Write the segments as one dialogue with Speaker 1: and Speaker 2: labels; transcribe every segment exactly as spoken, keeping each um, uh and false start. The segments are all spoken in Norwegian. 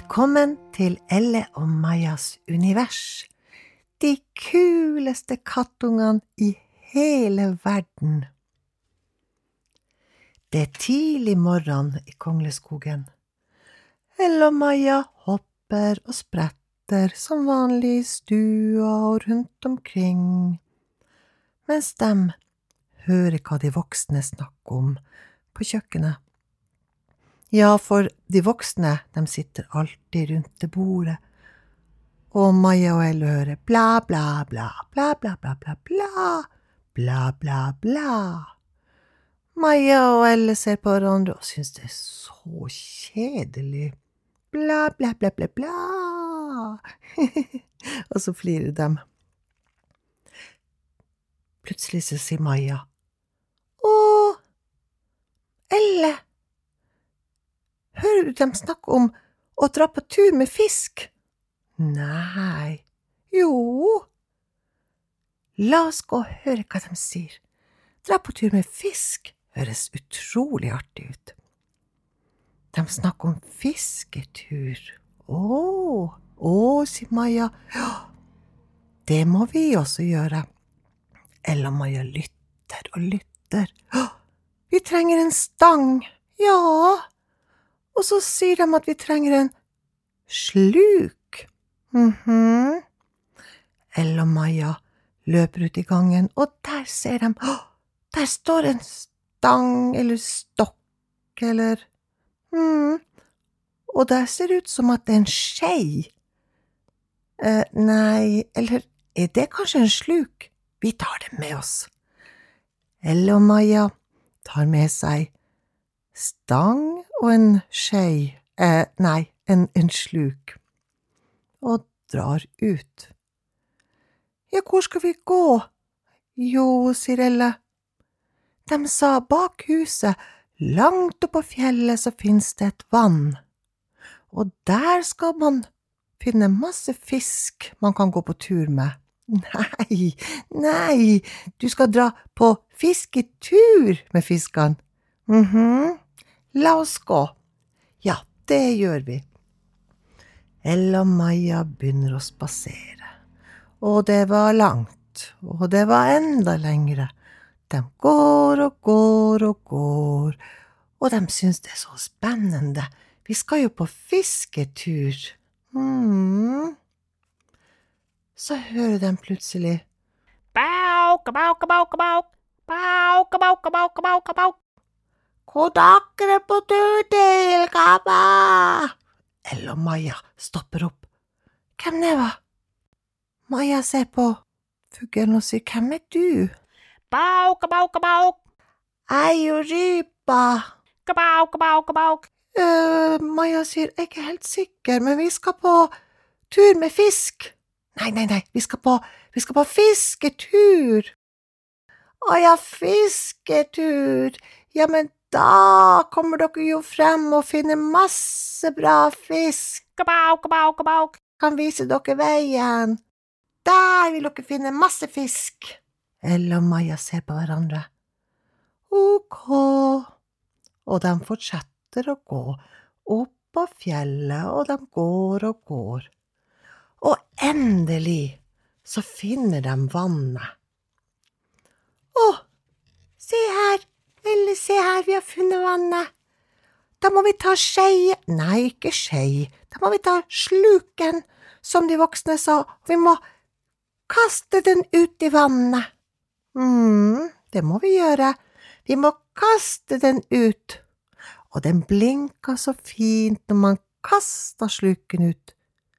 Speaker 1: Velkommen til Elle og Majas univers. De kuleste kattungene i hele verden. Det er tidlig morgen i Kongleskogen. Elle og Maja hopper og spretter som vanlig i stua og rundt omkring, mens de hører hva de voksne snakker om på kjøkkenet. Ja, for de voksne, de sitter alltid rundt det bordet, og Maja og Elle hører bla, bla, bla, bla, bla, bla, bla, bla, bla, bla, bla. Maja og Elle ser på hverandre og synes det er så kjedelig. Bla, bla, bla, bla, bla. Og så flirer de. Plutselig så sier Maja, «Åh, Elle, hører du dem snakke om å dra på tur med fisk?» «Nei, jo. La oss gå og høre hva de sier. Dra på tur med fisk høres utrolig artig ut.» De snakker om fisketur. «Åh, åh», sier Maja. «Ja, det må vi også gjøre.» Elle og Maja lytter og lytter. «Åh, vi trenger en stang.» «Ja.» Og så sier de at vi trenger en sluk. Mhm. Elle og Maja løper ut i gangen, og der ser de, åh, der står en stang eller stokk eller, mhm, og der ser det ut som at det er en skei. Eh, nei, eller er det kanskje en sluk? Vi tar det med oss. Elle og Maja tar med seg stang og en skei, eh, nei, en, en sluk, og drar ut. «Ja, hvor skal vi gå?» «Jo», sier Elle. De sa bak huset, langt oppe på fjellet, så finnes det et vann, og der skal man finne masse fisk man kan gå på tur med. «Nei, nei, du skal dra på fisketur med fiskene.» «Mhm, la oss gå.» «Ja, det gjør vi.» Elle og Maja begynner å spasere, og det var langt, og det var enda lengre. De går og går og går, og de synes det er så spennende. Vi skal jo på fisketur. Hmm. Så hører de plutselig «Bau, kabau, kabau, kabau, bau, kabau, kabau, kabau, kabau. Hvor dere på tur til, kabba?» Elle og Maja stopper opp. «Hvem det var?» Maja ser på fuglen og sier, «Hvem er du?» «Bau, kabau, kabau. Jeg er jo rypa.» «Kabau, kabau, kabau.» Uh, Maja sier, «Jeg er ikke helt sikker, men vi skal på tur med fisk.» «Nei, nei, nei, vi skal på, vi skal på fisketur.» «Å ja, fisketur. Ja, men da kommer dere jo frem og finner masse bra fisk. Kabau, kabau, kabau. Kan vise dere veien. Der vil dere finne masse fisk.» Elle og Maja ser på hverandre. «Ok.» Og de fortsetter å gå opp på fjellet, og de går og går. Og endelig så finner de vannet. «Åh, se her, Elle, se her, vi har funnet vannet. Da må vi ta skei.» «Nei, ikke skei. Da må vi ta sluken, som de voksne sa. Vi må kaste den ut i vannet.» «Mhm, det må vi gjøre. Vi må kaste den ut.» Og den blinka så fint når man kastet sluken ut.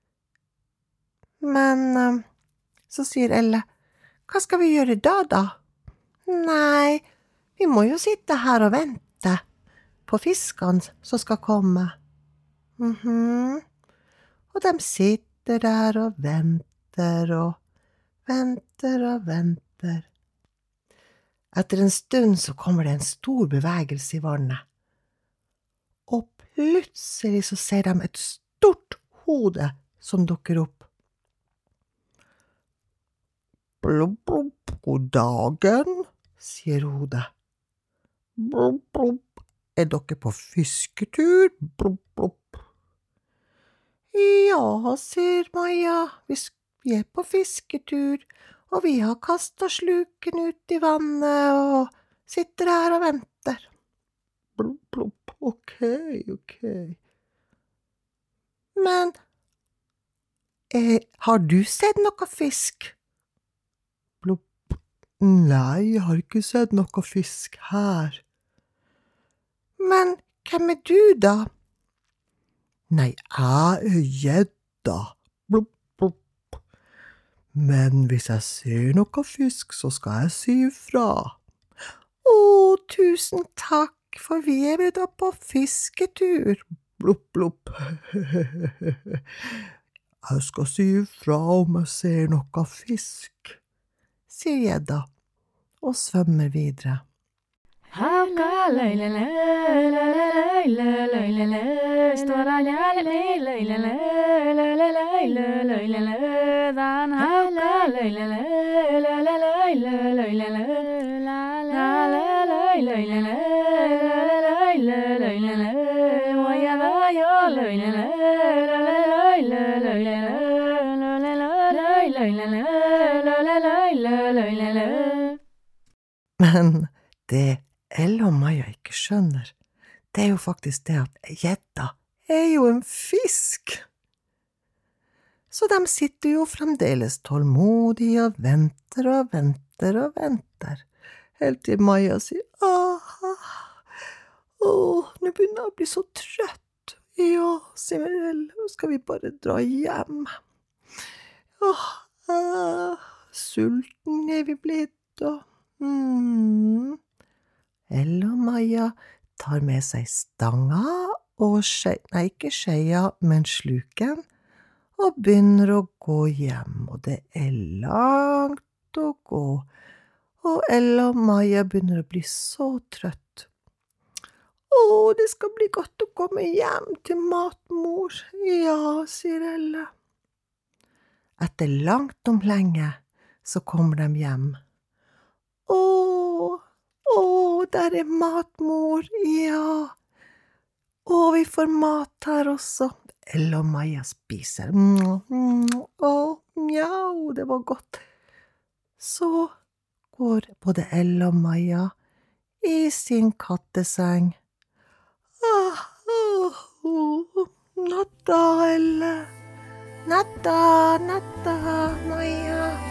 Speaker 1: Men så sier Elle, «Hva skal vi gjøre da, da?» «Nei, vi må jo sitte her og vente på fiskene som skal komme.» Mhm. Og de sitter der og venter og venter og venter. Etter en stund så kommer det en stor bevegelse i vannet. Og plutselig så ser de et stort hode som dukker opp. «Blub, blub, god dagen», sier hodet. «Blub, blub, er dere på fisketur?» «Blub, blub.» Ja, sier Maja, vi, vi er på fisketur, og vi har kastet sluken ut i vannet og sitter her og venter. Plopp, plopp, ok, ok. Men, eh, har du sett noe fisk? Plopp, nei, jeg har ikke sett noe fisk her. Men, hvem er du da? Nei, jeg er gjedda. Plopp, plopp. Men hvis jeg ser noe fisk, så skal jeg si ifra. Å, tusen takk, for vi er da på fisketur. Plopp, plopp. Jeg skal si ifra om jeg ser noe fisk, sier gjedda, og svømmer videre.
Speaker 2: Hauka løylele, løylele, løylele, står han gjerne løylele, løylele, løylele, den hauka løylele, løylele, løylele, løylele, løylele, og jeg da jo løylele, løylele, løylele, løylele, løylele.
Speaker 1: Men det Elle og Maja ikke skjønner, det er jo faktisk det at gjedda er jo en fisk. Så de sitter jo fremdeles tålmodig og venter og venter og venter, helt til Maja sier, aha, åh, nå begynner jeg å bli så trøtt. Ja, sier Elle, skal vi bare dra hjem? Åh, ah, sulten er vi blitt, og hmm... Elle og Maja tar med seg stanga og skje, nei, ikke skjeia, men sluken, og begynner å gå hjem, og det er langt å gå, og Elle og Maja begynner å bli så trøtt. Åh, det skal bli godt å komme hjem til matmor, ja, sier Elle. Etter langt om lenge, så kommer de hjem. Åh, Åh, der er matmor, ja. Åh, vi får mat her også. Elle og Maja spiser. Åh, mjau, det var godt. Så går både Elle og Maja i sin katteseng. Ah, oh, oh, natta, Elle. Natta, natta, Maja.